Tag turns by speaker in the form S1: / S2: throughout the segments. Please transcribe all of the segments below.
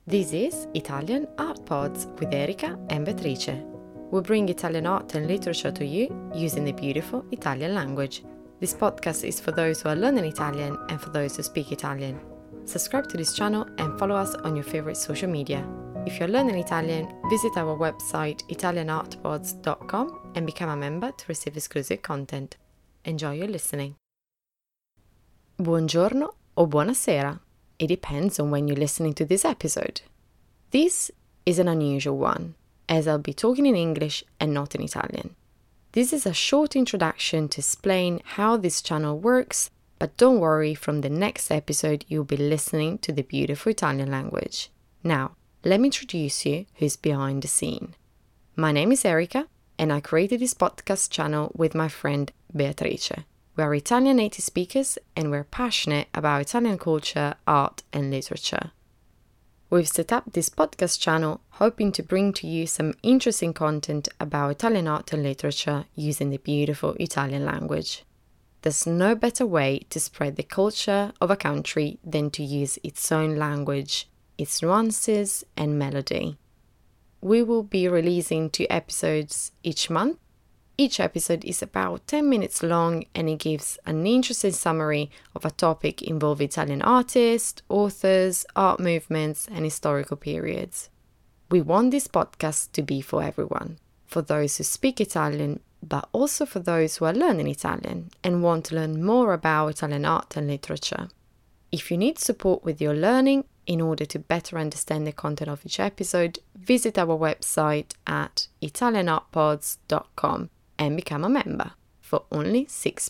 S1: This is Italian Art Pods with Erika and Beatrice. We bring Italian art and literature to you using the beautiful Italian language. This podcast is for those who are learning Italian and for those who speak Italian. Subscribe to this channel and follow us on your favorite social media. If you're learning Italian, visit our website italianartpods.com and become a member to receive exclusive content. Enjoy your listening. Buongiorno o buonasera. It depends on when you're listening to this episode. This is an unusual one, as I'll be talking in English and not in Italian. This is a short introduction to explain how this channel works, but don't worry, from the next episode you'll be listening to the beautiful Italian language. Now, let me introduce you who's behind the scene. My name is Erika, and I created this podcast channel with my friend Beatrice. We are Italian native speakers and we're passionate about Italian culture, art and literature. We've set up this podcast channel hoping to bring to you some interesting content about Italian art and literature using the beautiful Italian language. There's no better way to spread the culture of a country than to use its own language, its nuances and melody. We will be releasing 2 episodes each month. Each episode is about 10 minutes long and it gives an interesting summary of a topic involving Italian artists, authors, art movements, and historical periods. We want this podcast to be for everyone, for those who speak Italian, but also for those who are learning Italian and want to learn more about Italian art and literature. If you need support with your learning, in order to better understand the content of each episode, visit our website at italianartpods.com. and become a member for only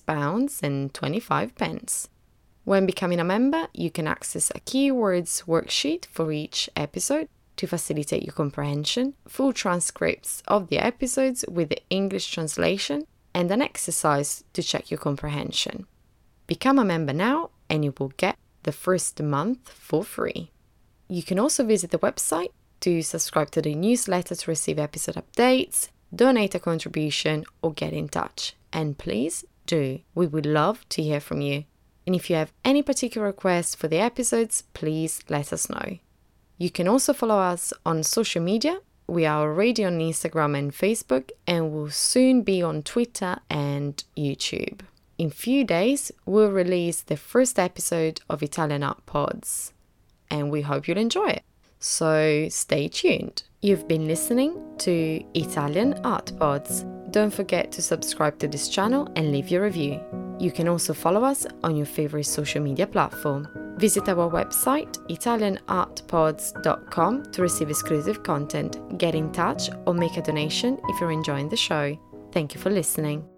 S1: £6.25. When becoming a member, you can access a keywords worksheet for each episode to facilitate your comprehension, full transcripts of the episodes with the English translation, and an exercise to check your comprehension. Become a member now and you will get the first month for free. You can also visit the website to subscribe to the newsletter to receive episode updates, donate a contribution or get in touch. And please do. We would love to hear from you. And if you have any particular requests for the episodes, please let us know. You can also follow us on social media. We are already on Instagram and Facebook and will soon be on Twitter and YouTube. In few days, we'll release the first episode of Italian Art Pods. And we hope you'll enjoy it. So stay tuned. You've been listening to Italian Art Pods. Don't forget to subscribe to this channel and leave your review. You can also follow us on your favorite social media platform. Visit our website italianartpods.com to receive exclusive content, get in touch or make a donation if you're enjoying the show. Thank you for listening.